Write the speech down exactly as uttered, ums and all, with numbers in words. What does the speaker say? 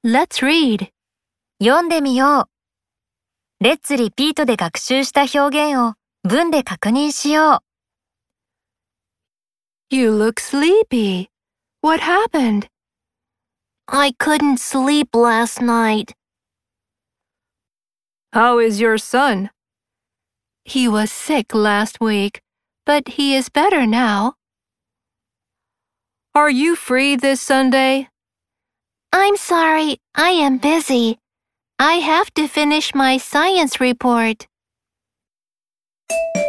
Let's read. 読んでみよう。Let's repeat で学習した表現を文で確認しよう。 You look sleepy. What happened? I couldn't sleep last night. How is your son? He was sick last week, but he is better now. Are you free this Sunday? I'm sorry, I am busy. I have to finish my science report.